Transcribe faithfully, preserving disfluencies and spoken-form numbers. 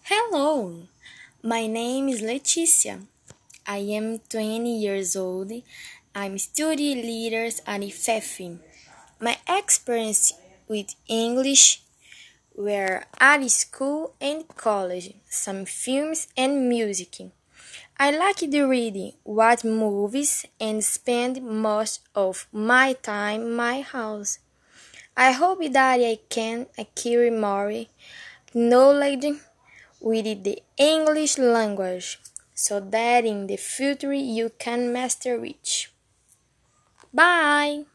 Hello, my name is Leticia. I am twenty years old. I'm study leader at I F E F. My experience with English were at school and college, some films and music. I like to read, watch movies, and spend most of my time in my house. I hope that I can acquire more knowledge with the English language so that in the future you can master it. Bye!